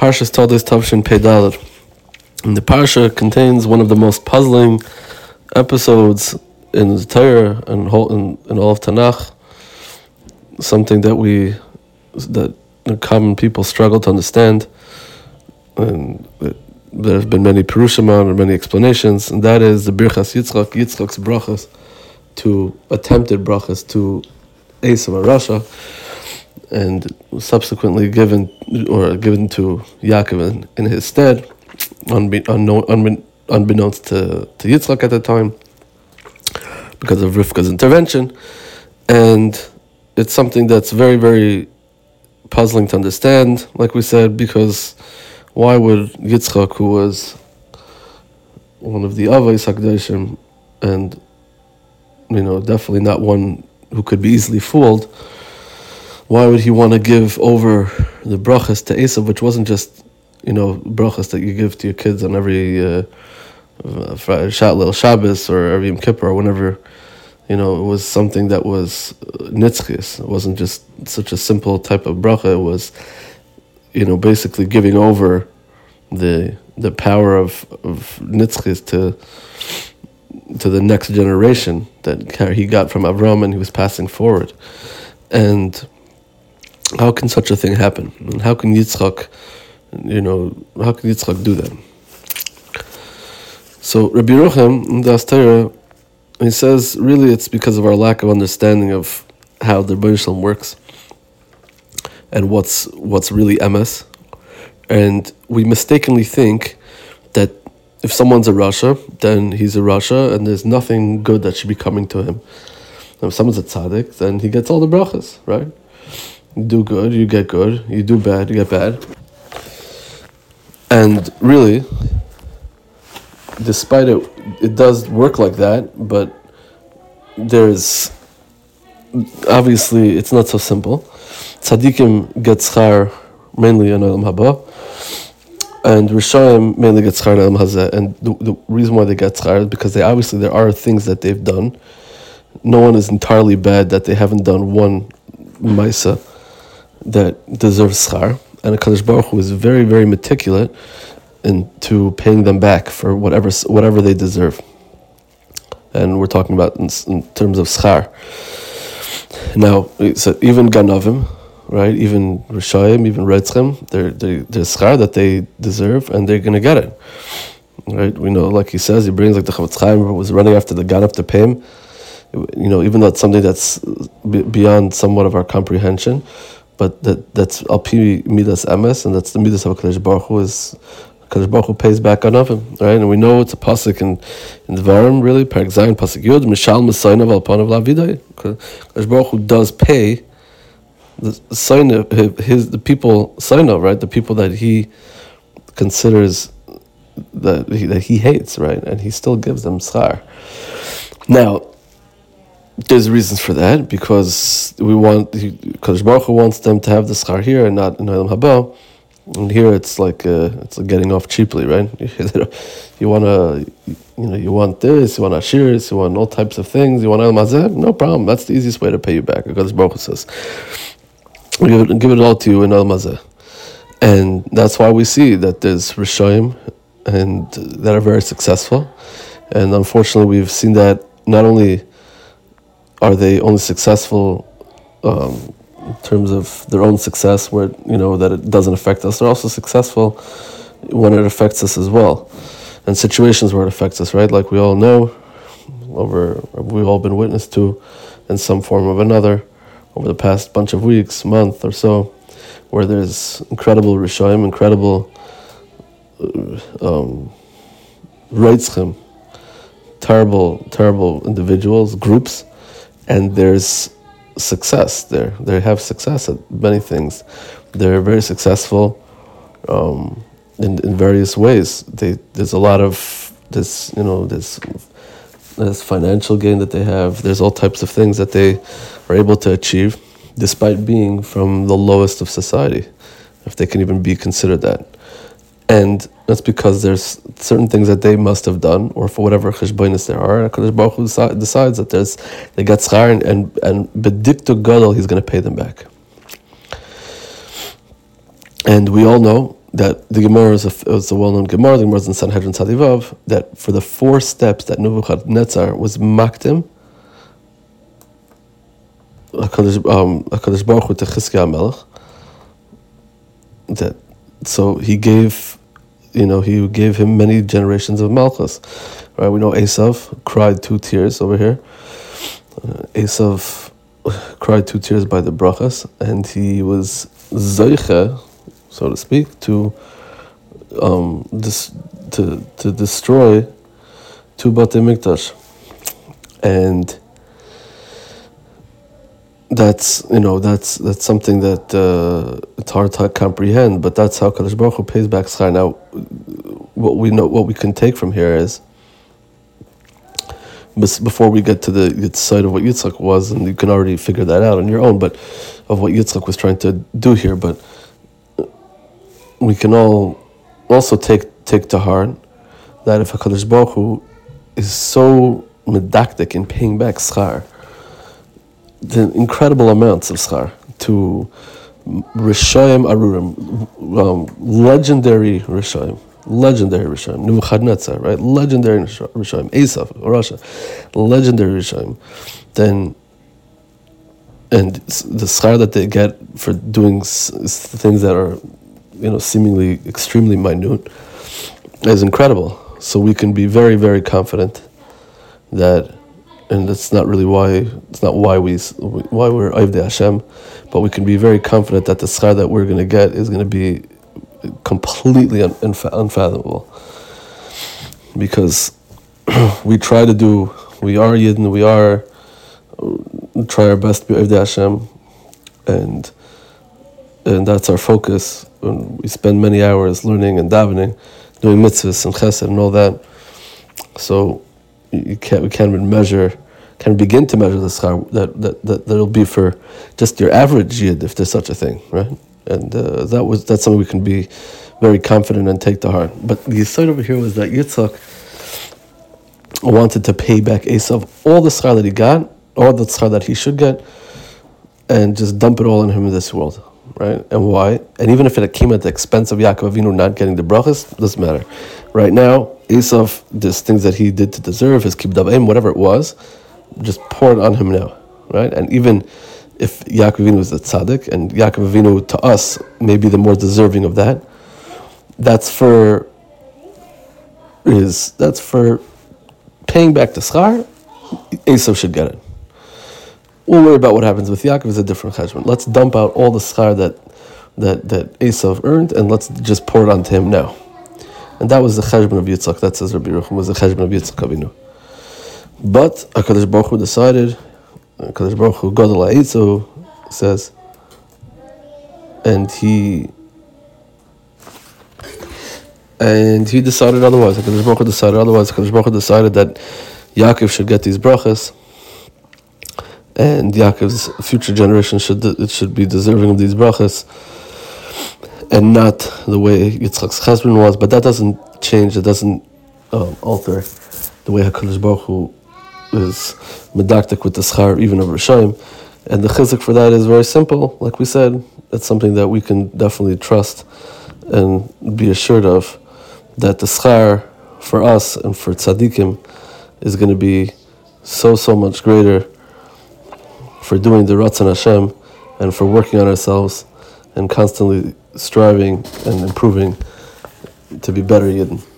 Parshas Toldos Tavshin Pei Daled. And the Parsha contains one of the most puzzling episodes in the Torah and in all of Tanakh. Something that the common people struggle to understand, and there have been many Perushim on or many explanations, and that is the Birchas Yitzchak's brachas, to attempted brachas to Esav Rasha, and subsequently given to Yaakov in his stead, unbeknownst to Yitzchak at the time, because of Rivka's intervention. And it's something that's very, very puzzling to understand, like we said, because why would Yitzchak, who was one of the Avos HaKadoshim, and definitely not one who could be easily fooled, why would he want to give over the brachas to Esav, which wasn't just brachas that you give to your kids on every little Shabbos or every Yom Kippur or whenever. It was something that was nitzchis. It wasn't just such a simple type of bracha. It was, basically giving over the power of nitzchis to the next generation that he got from Avram, and he was passing forward. And how can such a thing happen? And how can Yitzchak do that? So Rabbi Yerucham in the Torah, he says, really it's because of our lack of understanding of how the Rebbeinu Shalom works and what's really emes. And we mistakenly think that if someone's a Rasha, then he's a Rasha, and there's nothing good that should be coming to him. And if someone's a tzaddik, then he gets all the brachas, right? You do good, you get good. You do bad, you get bad. And really, despite it does work like that, but there's obviously it's not so simple. Tzaddikim get schar mainly in Olam Haba, and Rishayim mainly get schar in Olam Hazeh. And the reason why they get schar is because there are things that they've done. No one is entirely bad that they haven't done one Maisa that deserves schar, and HaKadosh Baruch Hu is very, very meticulous into paying them back for whatever they deserve. And we're talking about in terms of schar. Now, so even Ganavim, right? Even Rishayim, even Retzchem, there's schar that they deserve, and they're going to get it. Right? We know, like he says, he brings like the Chavetz Chaim was running after the Ganav to pay him. Even though it's something that's beyond somewhat of our comprehension, but that's al pi midas emes, and that's the midas of HaKadosh Baruch Hu is. HaKadosh Baruch Hu pays back on him, right? And we know it's a pasuk in Devarim, really, Perek Zayin, pasuk Yud, Mishal Mesainav al panav lavidai. HaKadosh Baruch Hu does pay the people Sainav, right? The people that he considers that he hates, right? And he still gives them schar. Now, there's reasons for that, because HaKadosh Baruch Hu wants them to have the schar here and not in Olam Haba. And here it's like getting off cheaply, right? You want this, you want ashiris, you want all types of things, you want Olam Hazeh, no problem. That's the easiest way to pay you back. HaKadosh Baruch Hu says, give it all to you in Olam Hazeh. And that's why we see that there's Rishayim and that are very successful. And unfortunately, we've seen that not only are they only successful in terms of their own success, where that it doesn't affect us, they're also successful when it affects us as well, and situations where it affects us, right? Like we all know, we've all been witness to, in some form or another, over the past bunch of weeks, month or so, where there's incredible Rishayim, incredible Reitzchem, terrible individuals, groups, and there's success there. They have success at many things. They're very successful in various ways. There's a lot of this, there's financial gain that they have. There's all types of things that they are able to achieve, despite being from the lowest of society, if they can even be considered that. And that's because there's certain things that they must have done, or for whatever cheshbonis there are. HaKadosh Baruch Hu decides that they got schar, and bediktu gadol, he's going to pay them back. And we all know that the Gemara is a well-known Gemara. The Gemara is in Sanhedrin Tzadivav, that for the 4 steps that Nebuchadnezzar was makdim, HaKadosh Baruch Hu to Chizkiah HaMelech, that so he gave him many generations of Malchus. Right? We know Esav cried 2 tears over here. Esav cried 2 tears by the brachas, and he was zeiche, so to speak, to destroy 2 Batei Mikdash, and that's something that it's hard to comprehend, but that's how Kadosh Baruch Hu pays back schar. Now, what we can take from here is, before we get to the side of what Yitzchak was, and you can already figure that out on your own, but of what Yitzchak was trying to do here, but we can all also take to heart that if HaKadosh Baruch Hu is so medactic in paying back schar, the incredible amounts of schar to Rishayim Arurim, legendary Rishayim, Nebuchadnezzar, right? Legendary Rishayim, Esav, Rasha, legendary Rishayim. Then, and the schar that they get for doing things that are, seemingly extremely minute, is incredible. So we can be very, very confident that, and that's not really why we're Ovdei Hashem, but we can be very confident that the schar that we're going to get is going to be completely unfathomable, because we are Yidden, we try our best to be Ovdei Hashem, and that's our focus. And we spend many hours learning and davening, doing mitzvahs and chesed and all that. So we can't begin to measure the schar that'll be for just your average Yid, if there's such a thing, right? And that's something we can be very confident and take to heart. But the side over here was that Yitzchak wanted to pay back Esav all the schar that he got, all the schar that he should get, and just dump it all on him in this world, right? And why? And even if it came at the expense of Yaakov Avinu not getting the brachas, doesn't matter. Right now, Esav, there's things that he did to deserve, his kibbud avim, whatever it was, just pour it on him now, right? And even if Yaakov Avinu is the tzaddik, and Yaakov Avinu to us may be the more deserving of that, that's for paying back the schar. Esav should get it. We'll worry about what happens with Yaakov is a different cheshbon. Let's dump out all the schar that Esav earned, and let's just pour it onto him now. And that was the cheshbon of Yitzchak. That says Rabbi Yerucham was the cheshbon of Yitzchak Avinu. But HaKadosh Baruch Hu decided, HaKadosh Baruch Hu Gadol Ha'itzu says, and he decided otherwise. HaKadosh Baruch Hu decided otherwise. HaKadosh Baruch Hu decided that Yaakov should get these brachas, and Yaakov's future generation should be deserving of these brachas, and not the way Yitzchak's cheshbon was. But that doesn't change. It doesn't alter the way HaKadosh Baruch Hu is medactic with the schar, even of Rishayim. And the chizuk for that is very simple. Like we said, it's something that we can definitely trust and be assured of, that the schar for us and for tzaddikim is going to be so much greater for doing the Ratzon Hashem and for working on ourselves and constantly striving and improving to be better Yidden.